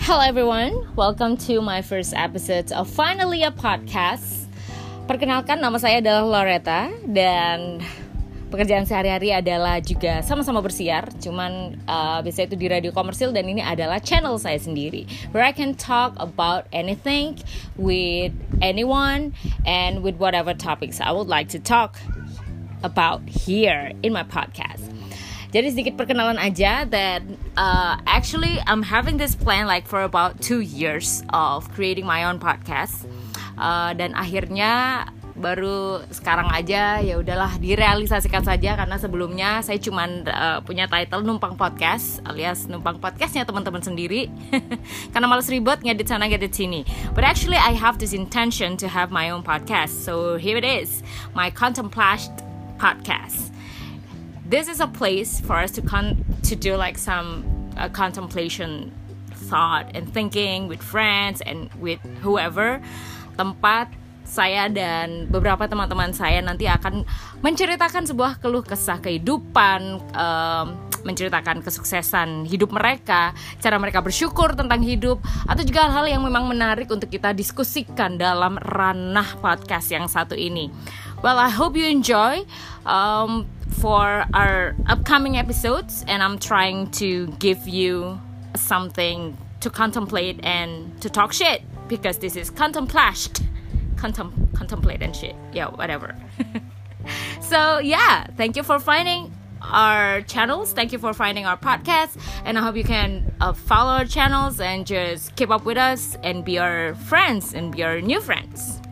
Hello everyone, welcome to my first episode of Finally a Podcast. Perkenalkan, nama saya adalah Loretta dan pekerjaan sehari-hari adalah juga sama-sama bersiar. Cuman biasanya itu di radio komersil dan ini adalah channel saya sendiri, where I can talk about anything with anyone and with whatever topics I would like to talk about here in my podcast. Jadi sedikit perkenalan aja that actually I'm having this plan like for about 2 years of creating my own podcast. Dan akhirnya baru sekarang aja ya udahlah direalisasikan saja, karena sebelumnya saya cuman punya title numpang podcast alias numpang podcastnya teman-teman sendiri karena malas ribet ngedit sana ngedit sini. But actually I have this intention to have my own podcast. So here it is, my Contemplast podcast. This is a place for us to do like some contemplation, thought and thinking with friends and with whoever. Tempat saya dan beberapa teman-teman saya nanti akan menceritakan sebuah keluh kesah kehidupan, menceritakan kesuksesan hidup mereka, cara mereka bersyukur tentang hidup, atau juga hal-hal yang memang menarik untuk kita diskusikan dalam ranah podcast yang satu ini. Well, I hope you enjoy for our upcoming episodes, and I'm trying to give you something to contemplate and to talk shit, because this is contemplast. Contemplate and shit. Yeah, whatever. So yeah, thank you for finding our channels. Thank you for finding our podcast, and I hope you can follow our channels and just keep up with us and be our friends and be our new friends.